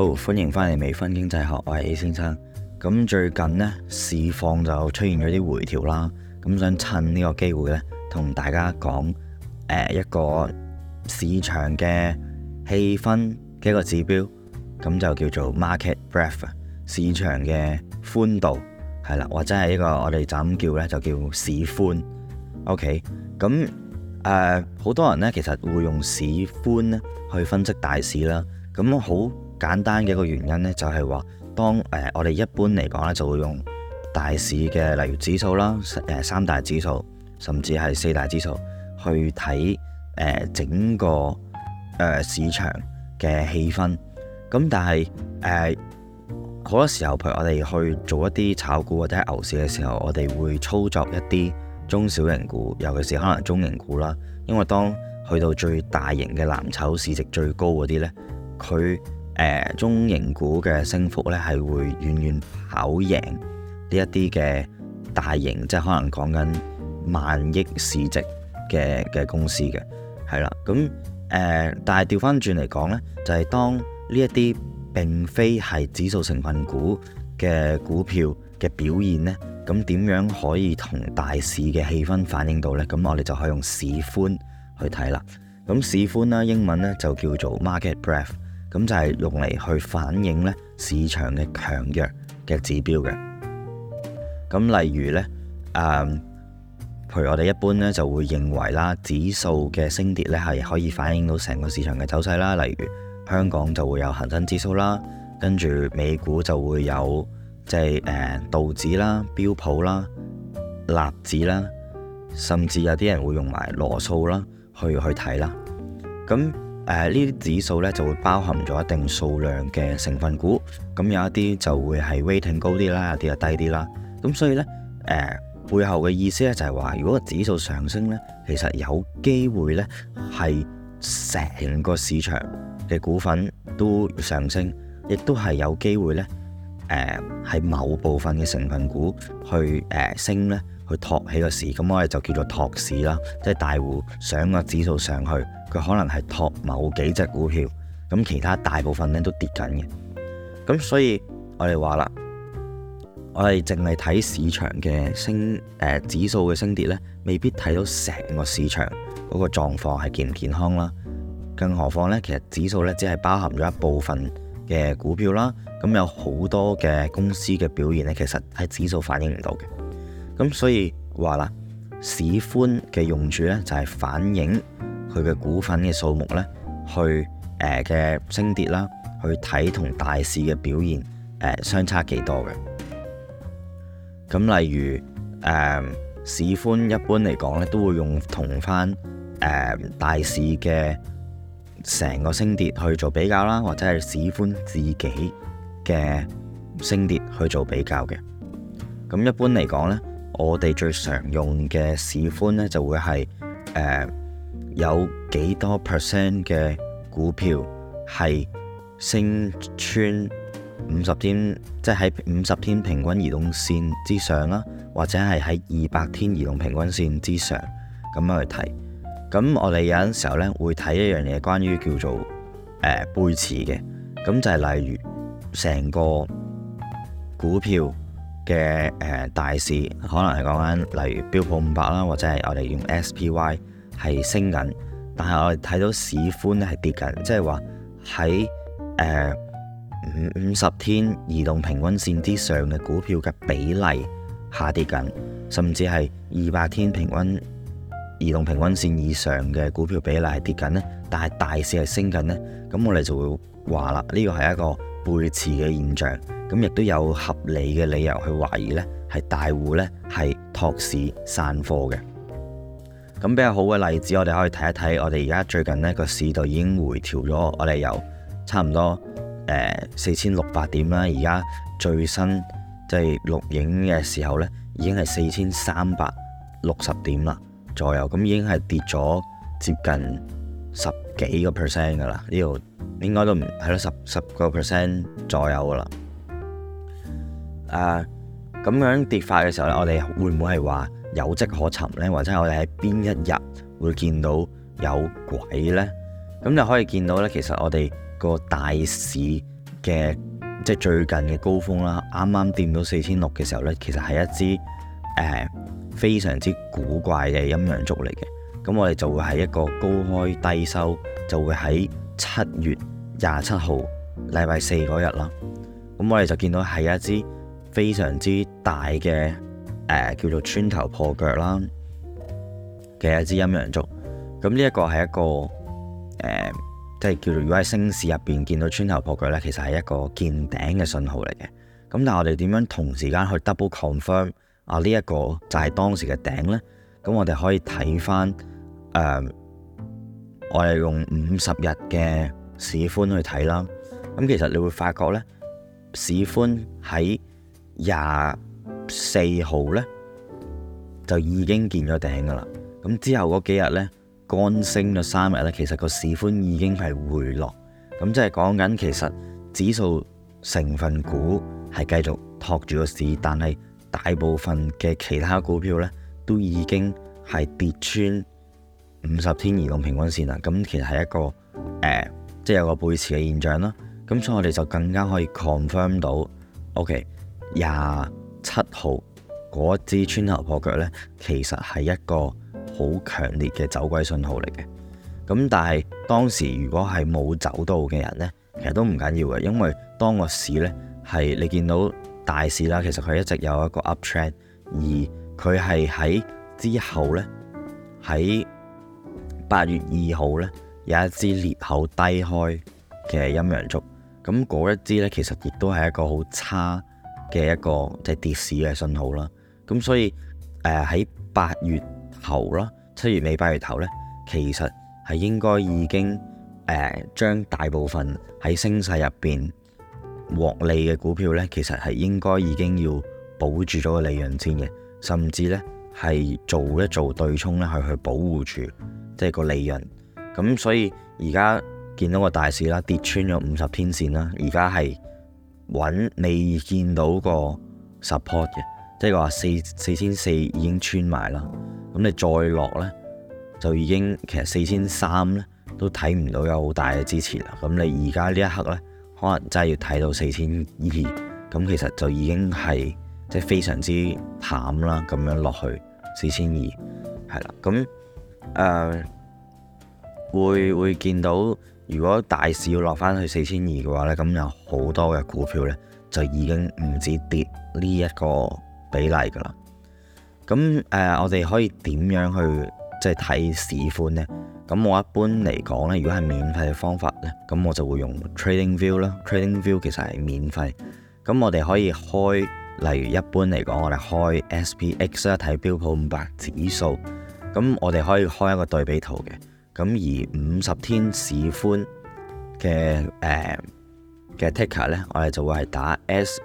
好，歡迎翻嚟微醺經濟學，我係 A 先生。咁最近呢，市況就出現咗啲回調啦，咁想趁呢個機會呢，同大家講一個市場嘅氣氛嘅一個指標，咁就叫做 market breadth， 市場嘅寬度係啦，或者係一個我哋就咁叫呢，就叫市寬。OK， 咁好多人呢，其實會用市寬呢去分析大市啦。咁好簡單嘅一個原因呢，就係話當我哋一般嚟講呢，就會用大市嘅例如指數啦，三大指數甚至係四大指數去睇整個市場嘅氣氛。咁但係好多時候，譬如我哋去做一啲炒股或者係牛市嘅時候，我哋會操作一啲中小型股，尤其是可能中型股啦。因為當去到最大型嘅藍籌市值最高嗰啲呢，佢中型股嘅升幅呢係會遠遠跑贏呢一啲嘅大型，即係可能講緊萬億市值嘅公司嘅，係啦。咁但係調翻轉嚟講呢，就係當呢一啲並非係指數成分股嘅股票嘅表現呢，咁點樣可以同大市嘅氣氛反映到呢？咁我哋就可以用市寬去睇啦。咁市寬啦，英文呢就叫做 market breadth， 咁就係用嚟去反映呢市場嘅強弱嘅指標嘅。咁例如呢，譬如我哋一般呢就會認為啦，指數嘅升跌呢係可以反映到成個市場嘅走勢啦。例如香港就會有恒生指數啦，跟住美股就會有即係道指啦、標普啦、納指啦，甚至有啲人會用埋羅素啦去睇啦。咁呢啲指數呢就會包含咗一定數量嘅成分股，咁有一啲就會係 weighting 高啲啦，有啲就低啲啦。咁所以呢，背後嘅意思呢就係話，如果個指數上升呢，其實有機會呢係成個市場嘅股份都上升，亦都係有機會呢係某部分嘅成分股去升呢，去托起個市。咁我哋就叫做托市啦，即係大戶上個指數上去，佢可能係托某幾隻股票，咁其他大部分呢都跌緊嘅。咁所以我哋話啦，我哋淨係睇市場嘅指數嘅升跌呢，未必睇到成個市場嗰個狀況係健唔健康啦。更何況呢，其實指數呢只係包含咗一部分嘅股票啦，咁有好多嘅公司嘅表現呢，其實喺指數反映唔到嘅。咁所以話啦，市寬嘅用處呢，就係反映佢嘅股份嘅數目呢，去嘅升跌啦，去睇同大市嘅表現相差幾多嘅。咁例如市寬一般嚟講呢，都會用同翻大市嘅成個升跌去做比較啦，或者係市寬自己嘅升跌去做比較嘅。咁一般嚟講呢，我哋最常用嘅市寬呢，就會係有幾多 percent 嘅股票係升穿50天，即係喺50天平均移動線之上啦，或者係喺200天移動平均線之上咁樣去睇。咁我哋有陣時候呢，會睇一樣嘢，關於叫做背馳嘅。咁就係例如成個股票嘅大市，可能係講緊例如標普500啦，或者係我哋用 SPY 係升緊，但係我哋睇到市寬咧係跌緊，即係話喺50天移動平均線之上嘅股票嘅比例下跌緊，甚至係200天平均移動平均線以上嘅股票比例係跌緊呢，但係大市係升緊呢。咁我哋就會話啦，呢個係一個背馳嘅現象，咁亦都有合理嘅理由去懷疑呢係大戶呢係托市散貨嘅。咁比較好嘅例子，我哋可以睇一睇，我哋而家最近呢個市道已經回調咗，我哋由差唔多4600點啦，而家最新即係錄影嘅時候呢，已經係4360點啦左右，咁已經係跌咗接近10幾個 percent 噶啦，呢度應該都唔係咯，10個 percent 左右噶啦。咁樣跌法嘅時候呢，我哋會唔會係話有跡可尋呢？或者我哋喺邊一日會見到有鬼呢？咁就可以見到呢，其實我哋個大市嘅即係最近嘅高峰啦，啱啱掂到4600嘅時候呢，其實係一支非常之古怪嘅陰陽燭嚟嘅。咁我哋就會係一個高開低收，就會喺7月27號禮拜四嗰日啦。咁我哋就見到係一支非常之大嘅叫做穿頭破腳啦嘅一支陰陽燭。咁呢一個係一個即係叫做如果喺升市入邊見到穿頭破腳呢，其實係一個見頂嘅信號嚟嘅。咁但係我哋點樣同時間去 double confirm 啊呢一個就係當時嘅頂呢？咁我哋可以睇翻我哋用50日嘅市寬去睇啦。咁其實你會發覺呢，市寬喺24號呢就已經見咗頂噶啦。咁之後嗰幾日呢，乾升咗3日呢，其實個市寬已經係回落。咁即係講緊其實指數成分股係繼續托住個市，但係大部分嘅其他股票呢都已經係跌穿50天移動平均線啦。咁其實係一個即係有個背馳嘅現象啦。咁所以我哋就更加可以 confirm 到 OK 27號嗰支穿頭破腳呢，其實係一個好強烈嘅走鬼信號嚟嘅。咁但係當時如果係冇走到嘅人呢，其實都唔緊要嘅，因為當個市呢係你見到大市啦，其實佢一直有一個 up trend， 而佢係喺之後呢，喺8月2號呢，有一支裂口低開嘅陰陽燭。咁嗰一支呢，其實亦都係一個好差嘅一個即係跌市嘅信號啦。咁所以喺8月頭啦、7月尾、8月頭呢，其實係應該已經將大部分喺升勢入邊獲利嘅股票呢，其實係應該已經要保住咗個利潤先嘅，甚至呢係做一做對沖呢，去保護住即係個利潤。咁所以而家見到個大市啦，跌穿咗50天線啦，而家係未見到個 support 嘅，即係話4400已經穿埋啦。咁你再落呢，就已經其實4300呢都睇唔到有好大嘅支持啦。咁你而家呢一刻呢，可能真係要睇到4200，咁其實就已經係即係非常之淡啦。咁樣落去4200係啦。咁會見到，如果大市要落翻去4200嘅話呢，咁有好多嘅股票呢，就已經唔止跌呢一個比例噶啦。咁我哋可以點樣去即係睇市寬呢？咁我一般嚟講呢，如果係免費嘅方法呢，咁我就會用 TradingView 啦。TradingView 其實係免費，咁我哋可以開，例如一般嚟講，我哋開 SPX 啦，睇標普500指數。咁我哋可以開一個對比圖嘅。咁而50天市寬嘅ticker 呢，我哋就會係打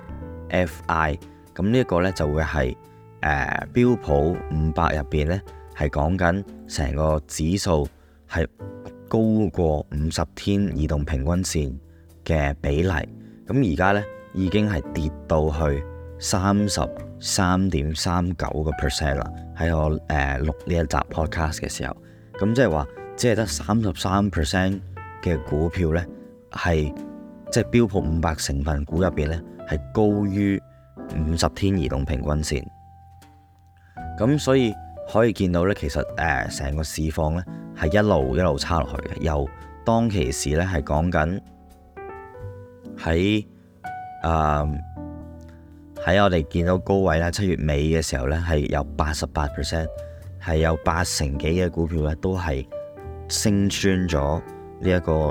SFI。咁呢一個呢，就會係標普500入邊呢，係講緊成個指數係高過50天移動平均線嘅比例。咁而家呢，已經係跌到去33.39% 啦。喺我錄呢一集 podcast 嘅時候，咁即係話只係得33% 嘅股票呢，係即係標普500成分股入邊呢，係高於50天移動平均線。咁所以可以見到呢，其實成個市況呢係一路差落去嘅。由當其時呢係講緊喺我哋見到高位啦，7月尾嘅時候呢係有88%，係有80%幾嘅股票呢都係升穿咗呢一個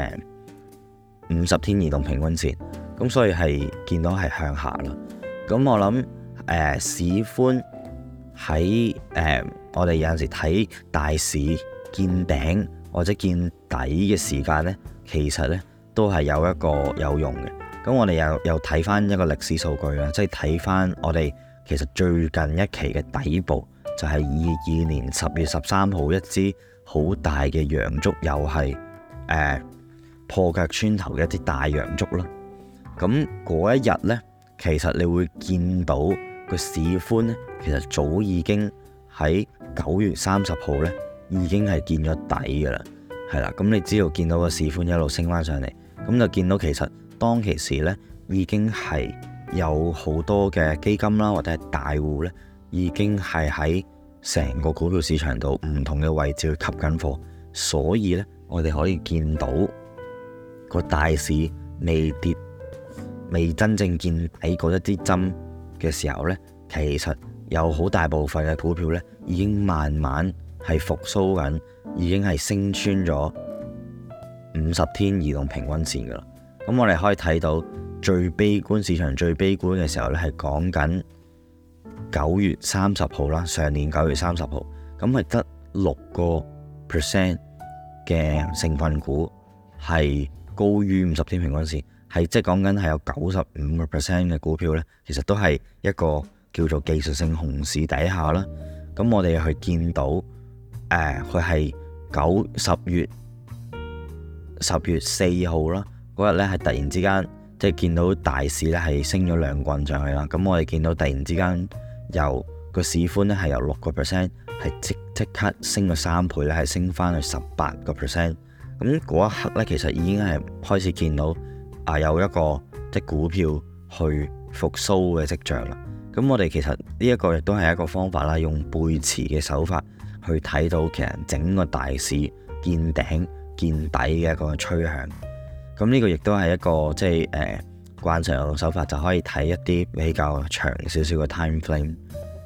50天移動平均線。咁所以係見到係向下啦。咁我諗市寬喺我哋有陣時睇大市見頂或者見底嘅時間呢，其實呢都係有一個有用嘅。咁我哋又睇翻一個歷史數據啦，即係睇翻我哋其實最近一期嘅底部就係22年10月13號一支好大嘅陽燭，又係破腳穿頭嘅一啲大陽燭啦。咁嗰一日呢，其實你會見到個市寬呢，其實早已經喺9月30號呢已經係見咗底噶啦，係啦。咁你只要見到個市寬一路升翻上嚟，咁就見到其實當其時呢，已經係有好多嘅基金啦，或者係大戶呢，已經係喺成個股票市場度唔同嘅位置去吸緊貨，所以呢，我哋可以見到個大市未跌、未真正見底嗰一啲針嘅時候呢，其實有好大部分嘅股票呢，已經慢慢係復甦緊，已經係升穿咗50天移動平均線噶啦。咁我哋可以睇到最悲觀，市場最悲觀嘅時候呢，係講緊9月30號啦，上年9月30號，咁係得6% 嘅成分股係高於50天平均線，係即係講緊係有95% 嘅股票呢，其實都係一個叫做技術性熊市底下啦。咁我哋去見到佢係10月4號啦，嗰日呢係突然之間即係見到大市呢係升咗2棍上去啦。咁我哋見到突然之間由個市寬呢係由6% 係即刻升咗3倍呢，係升翻去18%。咁嗰一刻呢，其實已經係開始見到有一個即係股票去復甦嘅跡象啦。咁我哋其實呢一個亦都係一個方法啦，用背馳嘅手法去睇到其實整個大市見頂見底嘅一個趨向。咁呢個亦都係一個即係慣常用手法，就可以睇一啲比較長少少嘅 time frame。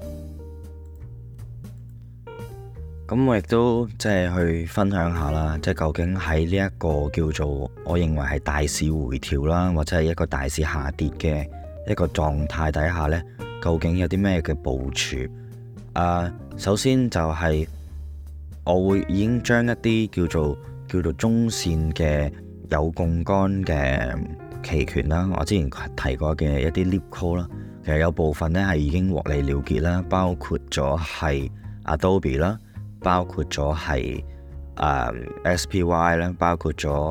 咁我亦都即係去分享下啦，即係究竟喺呢一個叫做我認為係大市回調啦，或者係一個大市下跌嘅一個狀態底下呢，究竟有啲咩嘅部署？首先就係我會已經將一啲叫做中線嘅有槓桿嘅期權啦，我之前提過嘅一啲 leap call 啦，其實有部分呢係已經獲利了結啦，包括咗係 Adobe 啦，包括咗係SPY 啦，包括咗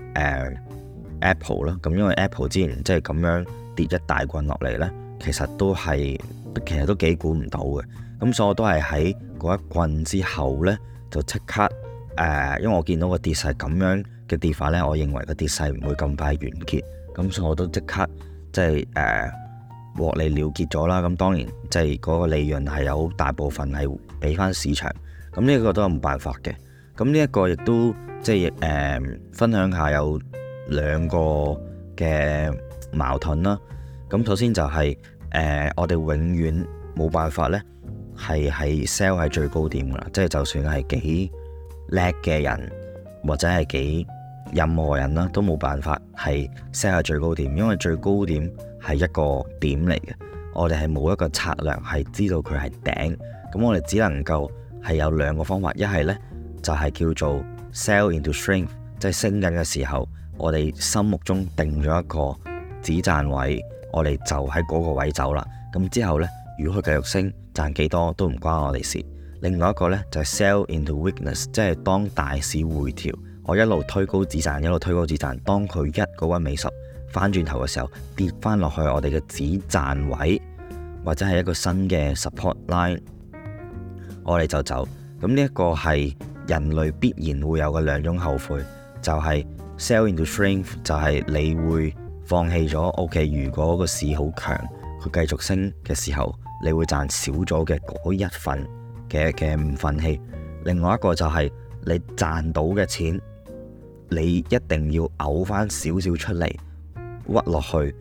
Apple 啦。咁因為 Apple 之前即係咁樣跌一大棍落嚟呢，其實都幾估唔到嘅。咁所以我都係喺嗰一棍之後呢，就即刻因為我見到個跌勢咁樣嘅跌法呢，我認為個跌勢唔會咁快完結，咁所以我都即刻即係獲利了結咗啦。咁當然即係嗰個利潤係有大部分係俾翻市場，咁呢一個都係冇辦法嘅。咁呢一個亦都即係分享下有2個嘅矛盾啦。咁首先就係我哋永遠冇辦法呢係 sell 喺最高點噶啦，即係就算係幾叻嘅人或者係幾任何人啦，都冇辦法係 sell 喺最高點，因為最高點係一個點嚟嘅，我哋係冇一個策略係知道佢係頂，咁我哋只能夠係有2個方法，一係呢就係叫做 sell into strength， 即係升緊嘅時候，我哋心目中定咗一個止賺位，我哋就喺嗰個位走啦。咁之後呢，如果佢繼續升，賺幾多都唔關我哋事。另外一個呢，就係 sell into weakness， 即係當大市回調，我一路推高止賺，一路推高止賺，當佢1個1尾10翻轉頭嘅時候，跌翻落去我哋嘅止賺位，或者係一個新嘅 support line， 我哋就走。咁呢一個係人類必然會有嘅2種後悔，就係 sell into strength， 就係你會放棄咗。OK， 如果個市好強，佢繼續升嘅時候，你會賺少咗嘅嗰一份嘅唔忿氣。另外一個就係你賺到嘅錢，你一定要嘔翻少少出嚟，屈落去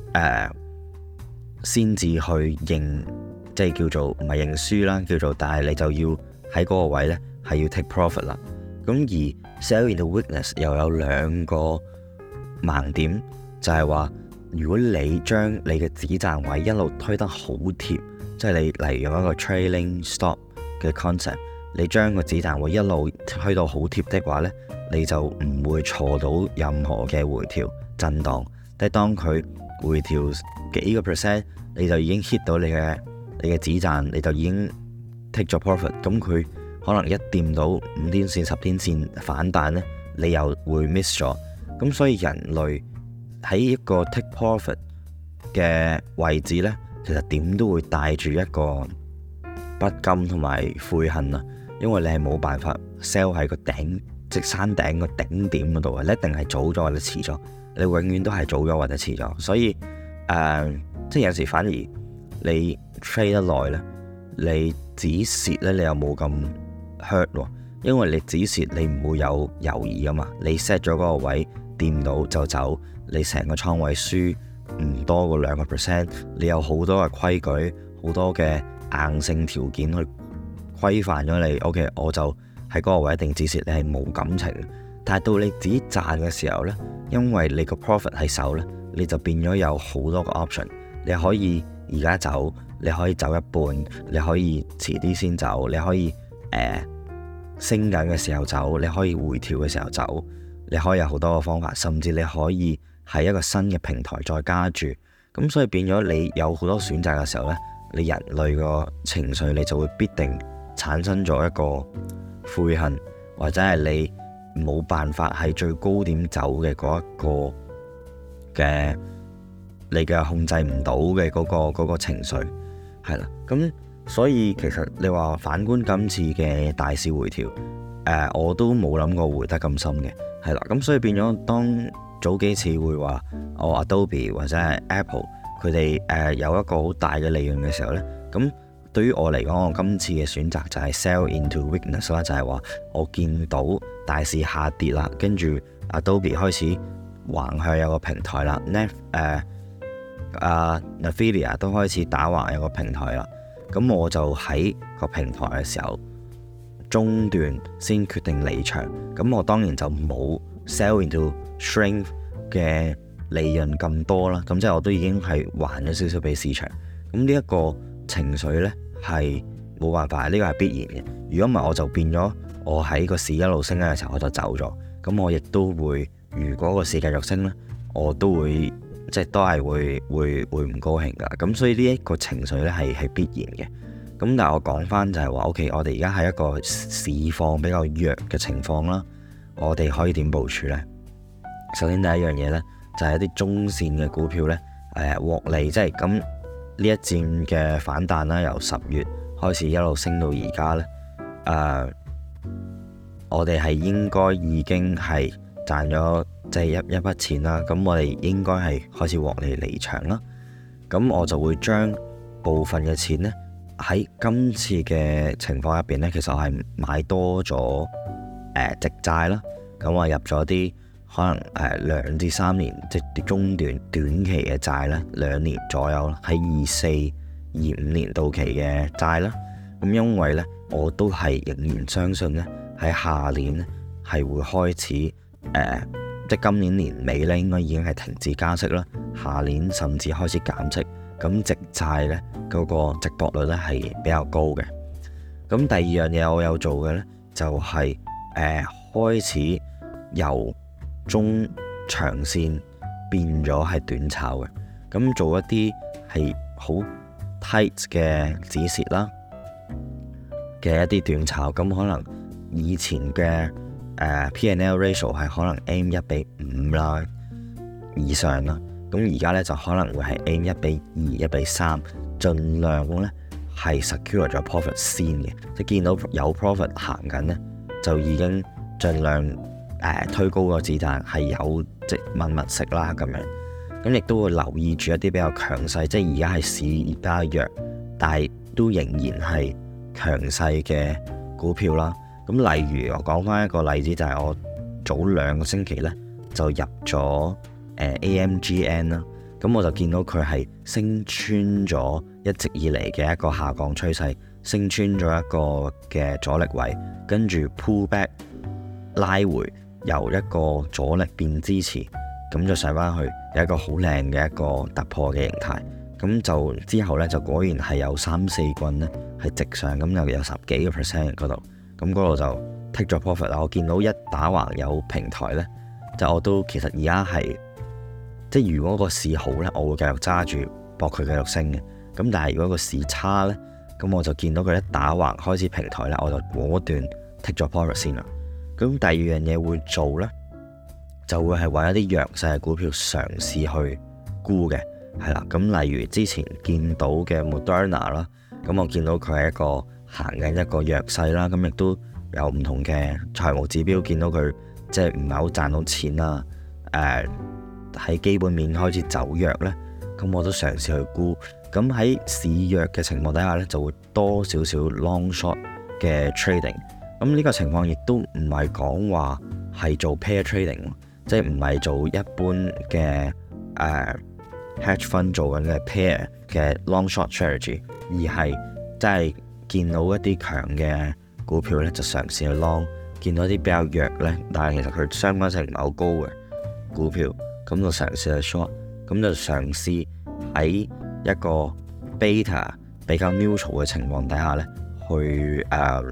先至去認，即係叫做唔係認輸啦，叫做，但係你就要喺嗰個位呢係要 take profit 啦。咁而 sell into weakness 又有2個盲點，就係話如果你將你嘅止賺位一路推得好貼，即係你例如用一個 trailing stop 嘅 concept， 你將個止賺位一路推到好貼的話呢，你就唔會錯到任何嘅回調震盪。即係當佢回調幾個 percent， 你就已經 hit 到你嘅止賺，你就已經 take 咗 profit。咁佢可能一掂到5天線、10天線反彈呢，你又會 miss 咗。咁所以人類喺一個 take profit 嘅位置呢，其實點都會帶住一個不甘同埋悔恨啊，因為你係冇辦法 sell 喺個頂，即山頂個頂點嗰度啊，你一定係早咗或者遲咗， 你永遠都係早咗或者遲咗。所以即係有時反而你 trade 得耐呢，你止蝕呢，你又冇咁 hurt 喎，因為你止蝕你唔會有猶豫噶嘛，你 set 咗嗰個位掂到就走，你成個倉位輸唔多過2%，你有好多嘅規矩，好多嘅硬性條件去規範咗你。OK， 我就喺嗰個位一定止蝕，你係冇感情。但係到你自己賺嘅時候呢，因為你個 profit 喺手呢，你就變咗有好多個 option，你可以而家走，你可以走一半，你可以遲啲先走，你可以升緊嘅時候走，你可以回調嘅時候走，你可以有好多個方法，甚至你可以喺一個新嘅平台再加注。咁所以變咗你有好多選擇嘅時候呢，你人類個情緒你就會必定產生咗一個悔恨，或者係你冇辦法喺最高點走嘅嗰一個嘅你嘅控制唔到嘅嗰個情緒係啦。咁所以其實你話反觀今次嘅大市回調，我都冇諗過回得咁深嘅，係啦。咁所以變咗當早幾次會話Adobe 或者係 Apple 佢哋有一個好大嘅利潤嘅時候呢，咁對於我嚟講，我今次嘅選擇就係 sell into weakness 啦，就係話我見到大市下跌啦，跟住 Adobe 開始橫向有個平台啦，Nvidia 都開始打橫有個平台啦，咁我就喺個平台嘅時候中段先決定離場，咁我當然就冇 sell into strength 嘅利潤咁多啦，咁即係我都已經係還咗少少俾市場，咁呢一個情緒呢係冇辦法，呢個係必然嘅。如果唔係我就變咗我喺個市一路升嘅時候我就走咗，咁我亦都會，如果個市繼續升呢，我都會即係都係會唔高興噶。咁所以呢一個情緒呢係必然嘅。咁但係我講翻就係話 OK， 我哋而家係一個市況比較弱嘅情況啦，我哋可以點部署呢？首先第一樣嘢呢，就係一啲中線嘅股票呢，獲利，即係咁呢一戰嘅反彈啦，由10月開始一路升到而家呢，我哋係應該已經係賺咗即係一筆錢啦，咁我哋應該係開始獲利離場啦。咁我就會將部分嘅錢呢，喺今次嘅情況入邊呢，其實我係買多咗直債啦，咁我入咗啲可能2至3年即係中短期嘅債啦，2年左右啦，喺24、25年到期嘅債啦。咁因為呢，我都係仍然相信呢，喺下年呢係會開始即係今年年尾呢應該已經係停止加息啦，下年甚至開始減息。咁直債呢嗰個值博率呢係比較高嘅。咁第二樣嘢我有做嘅呢，就係開始由中長線變咗係短炒嘅，咁做一啲係好 tight 嘅止蝕啦嘅一啲短炒，咁可能以前嘅P&L ratio 係可能 aim 1:5啦以上啦，咁而家呢就可能會係 aim 1:2、1:3，盡量呢係 secure 咗 profit 先嘅，即係見到有 profit 行緊呢，就已經盡量推高個子彈，係有即密食啦咁樣，咁亦都會留意住一啲比較強勢，即係而家係市而家弱，但係都仍然係強勢嘅股票啦。咁例如我講翻一個例子，就係我早2個星期呢就入咗AMGN 啦，咁我就見到佢係升穿咗一直以嚟嘅一個下降趨勢，升穿咗一個嘅阻力位，跟住 pull back 拉回，由一個阻力變支持，咁就上翻去有一個好靚嘅一個突破嘅形態。咁就之後呢，就果然係有3-4棍呢係直上，咁又有10幾個 percent 嗰度，咁嗰度就 take 咗 profit 啦。我見到一打橫有平台呢，就我都其實而家係即係如果個市好呢，我會繼續揸住搏佢繼續升嘅。咁但係如果個市差呢，咁我就見到佢一打橫開始平台呢，我就果斷 take 咗 profit 先啦。咁第二樣嘢會做呢，就會係揾一啲弱勢嘅股票嘗試去沽嘅，係啦。咁例如之前見到嘅 Moderna 啦，咁我見到佢係一個行緊一個弱勢啦，咁亦都有唔同嘅財務指標，見到佢即係唔係好賺到錢啦， 喺基本面開始走弱呢，咁我都嘗試去沽。咁喺市弱嘅情況底下呢，就會多少少 long short 嘅 trading。咁呢個情況亦都唔係講話係做 pair trading，即係唔係做一般嘅hedge fund 做緊嘅 pair 嘅 long short strategy， 而係即係見到一啲強嘅股票呢，就嘗試去 long。見到啲比較弱呢，但係其實佢相關性唔係好高嘅股票，咁就嘗試去 short， 咁就嘗試喺一個 beta 比較 neutral 嘅情況底下呢，去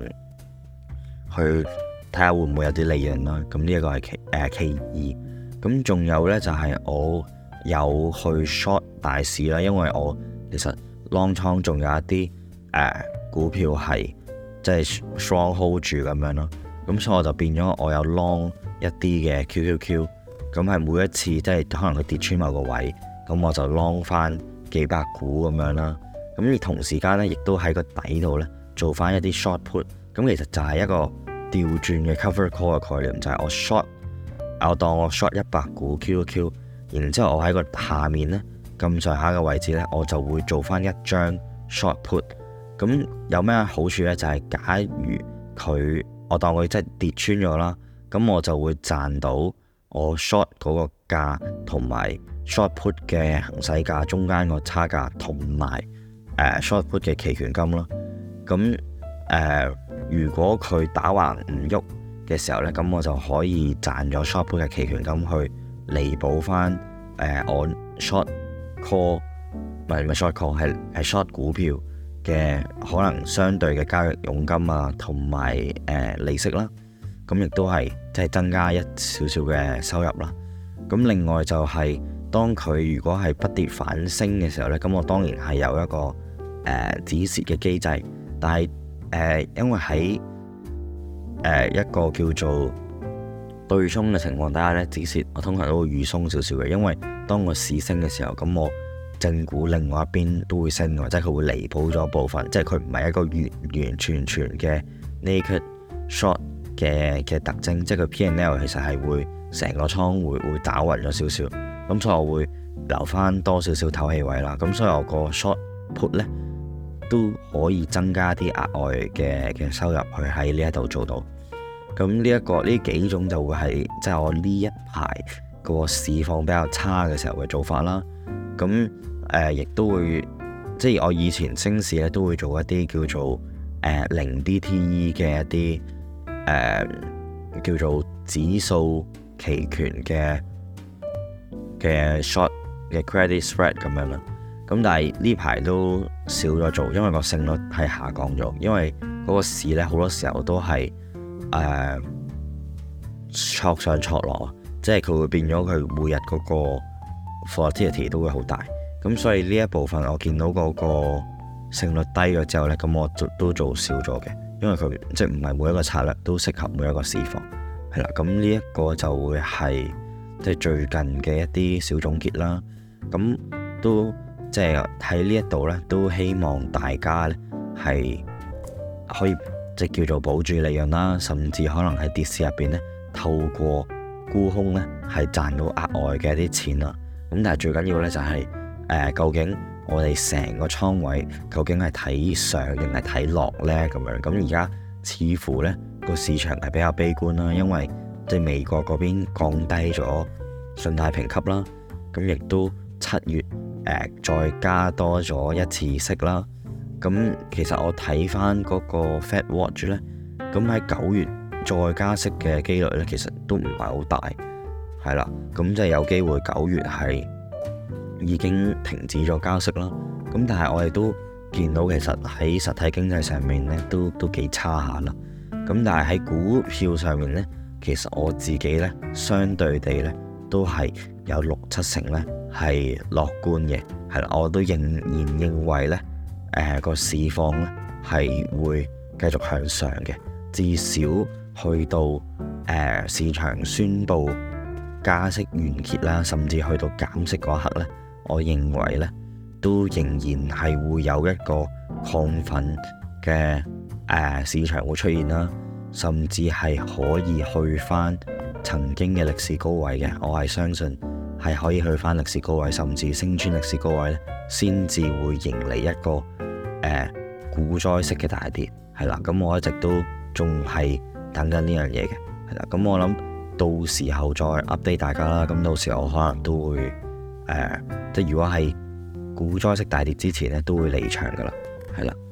睇下會唔會有啲利潤啦。咁呢一個係其二。咁仲有呢，就係我有去 short 大市啦，因為我其實 long 倉仲有一啲股票係即係 strong hold 住咁樣咯。咁所以我就變咗我有 long 一啲嘅 QQQ， 咁係每一次即係可能佢跌穿某個位，咁我就 long 翻幾百股咁樣啦。咁而同時間呢，亦都喺個底度呢做翻一啲 short put。咁其實就係一個調轉嘅 cover call 嘅概念，就係我當我 short 100股 QQQ， 然之後我喺個下面呢咁上下嘅位置呢，我就會做翻一張 short put。咁有咩好處呢？就係假如我當佢真係跌穿咗啦，咁我就會賺到我 short 嗰個價同埋 short put 嘅行使價中間個差價，同埋short put 嘅期權金咯。咁如果佢打橫唔喐嘅時候呢，咁我就可以賺咗 short put 嘅期權金去彌補翻我 short call 唔係 short call 係 short 股票嘅可能相對嘅交易佣金啊，同埋利息啦，咁亦都係即係增加一少少嘅收入啦。咁另外就係當佢如果係不跌反升嘅時候呢，咁我當然係有一個止蝕嘅機制，但係因為喺一個叫做對沖嘅情況底下呢，止蝕我通常都會預鬆少少嘅，因為當個市升嘅時候，咁我正股另外一邊都會升嘅，即係佢會彌補咗部分，即係佢唔係一個完完全全嘅 naked short 嘅特徵，即係佢 P&L 其實係會成個倉會打暈咗少少，咁所以我會留翻多少少透氣位啦。咁所以我個 short put 呢都可以增加啲額外嘅收入去喺呢一度做到。咁呢幾種就會係即係我呢一排個市況比較差嘅時候嘅做法啦。咁亦都會即係我以前升市咧都會做一啲叫做零 DTE 嘅一啲叫做指數期權嘅 short 嘅 credit spread 咁樣啦。咁但係呢排都少咗做，因為個勝率係下降咗，因為嗰個市咧好多時候都係挫上挫落，即係佢會變咗佢每日嗰個 volatility 都會好大。咁所以呢一部分我見到嗰個勝率低咗之後呢，咁我都做少咗嘅，因為佢即係唔係每一個策略都適合每一個市況，係啦。咁呢一個就會係即係最近嘅一啲小總結啦。咁都即係喺呢一度呢，都希望大家呢係可以即係叫做保住利潤啦，甚至可能喺跌市入邊呢，透過沽空呢係賺到額外嘅一啲錢啦。咁但係最緊要呢就係究竟我哋成個倉位究竟係睇上定係睇落呢？咁樣。咁而家似乎呢個市場係比較悲觀啦，因為即係美國嗰邊降低咗信貸評級啦，咁亦都7月再加多咗一次息啦。咁其實我睇翻嗰個 Fed Watch 呢，咁喺9月再加息嘅機率呢，其實都唔係好大，係啦。咁即係有機會9月係已經停止咗加息啦。咁但係我哋都見到其實喺實體經濟上面呢都幾差下啦。咁但係喺股票上面呢，其實我自己呢相對地呢都係有6-7成呢係樂觀嘅，係啦。我都仍然認為呢個市況呢係會繼續向上嘅，至少去到市場宣布加息完結啦，甚至去到減息嗰刻呢，我認為呢都仍然係會有一個亢奮嘅市場會出現啦，甚至係可以去翻曾經嘅歷史高位嘅。我係相信係可以去翻歷史高位，甚至升穿歷史高位呢，先至會迎嚟一個股災式嘅大跌，係啦。咁我一直都仲係等緊呢樣嘢嘅，係啦。咁我諗到時候再 update 大家啦。咁到時候我可能都會即係如果係股災式大跌之前呢，都會離場噶啦，係啦。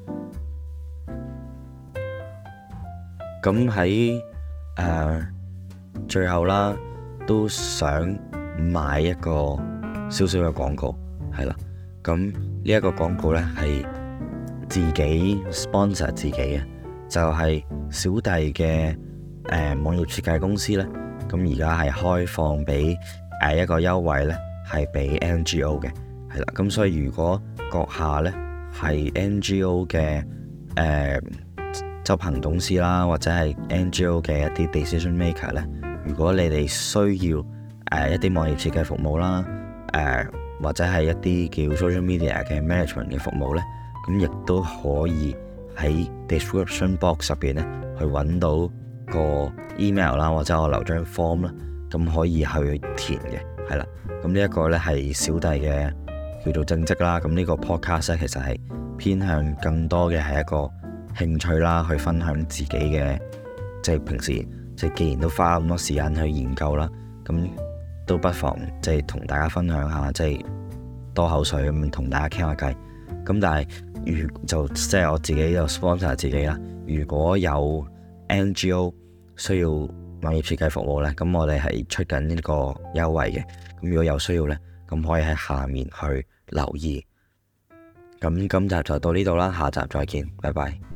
咁喺最後啦，都想賣一個少少嘅廣告，係啦。咁呢一個廣告呢，係自己 sponsor 自己嘅，就係小弟嘅網頁設計公司呢。咁而家係開放俾一個優惠呢，係俾 NGO 嘅，係啦。咁所以如果閣下呢係 NGO 嘅執行董事啦，或者係 NGO 嘅一啲 decision maker 呢，如果你哋需要一啲網頁設計服務啦，或者係一啲叫 social media 嘅 management 嘅服務呢，咁亦都可以喺 description box 入邊呢去揾到個 email 啦，或者我留張 form 啦，咁可以去填嘅，係啦。咁呢一個呢係小弟嘅叫做正職啦。咁呢個 podcast 呢，其實係偏向更多嘅係一個興趣啦，去分享自己嘅，即係平時即係既然都花咁多時間去研究啦，咁都不妨即係同大家分享下，即係多口水咁同大家傾下偈。咁但係即係我自己就 sponsor 自己啦。如果有 NGO 需要網頁設計服務呢，咁我哋係出緊呢個優惠嘅。咁如果有需要呢，咁可以喺下面去留意。咁今集就到呢度啦，下集再見，拜拜。